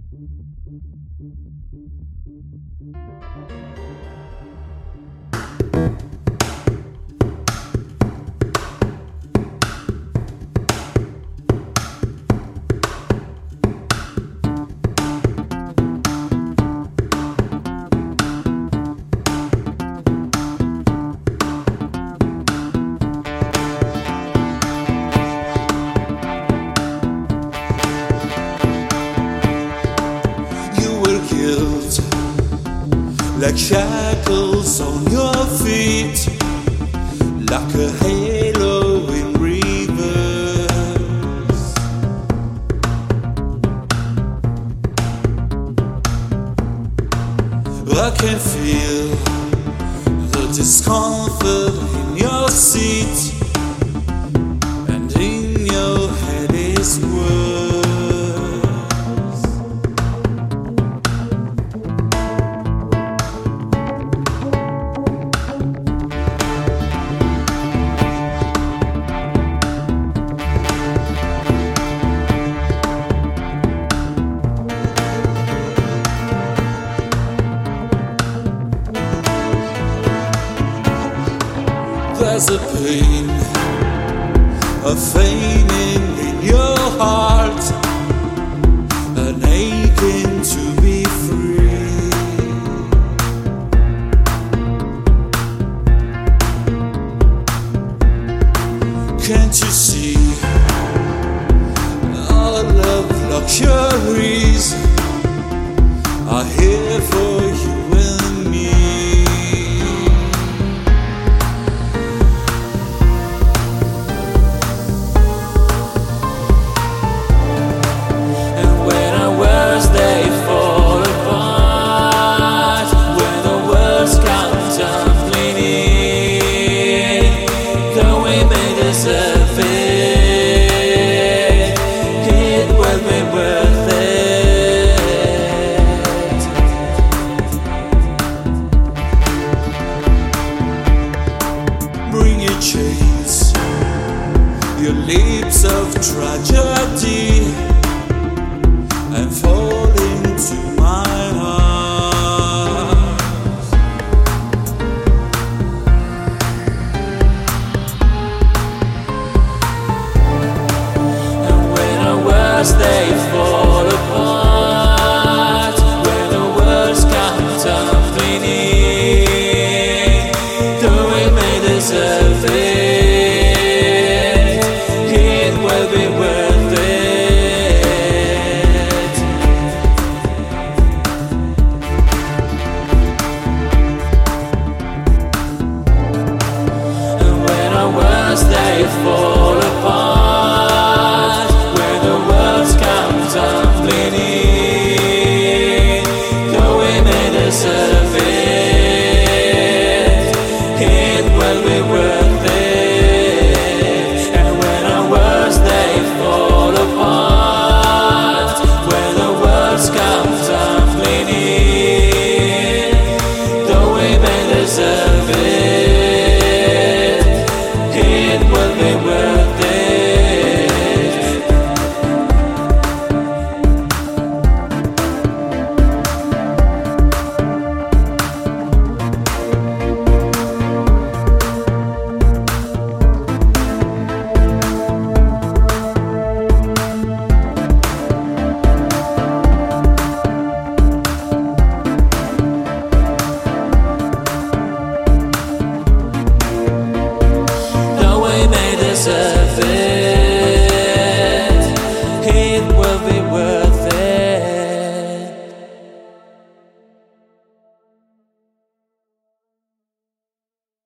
Like shackles on your feet, like a halo in reverse. I can feel the discomfort in your seat, and in your head is worse. There's a pain, a feigning in your heart, an aching to be free. Can't you see all of luxuries are here for you and me? Chains, your lips of tragedy, and fall into my arms. And when our words they fall apart, when the words come tumbling in, though we may deserve it, it will be worth it. And when our words they fall apart, when the words come tumbling in, though we may deserve it, it will be worth it. Deserve it, it will be worth it. Deserve it.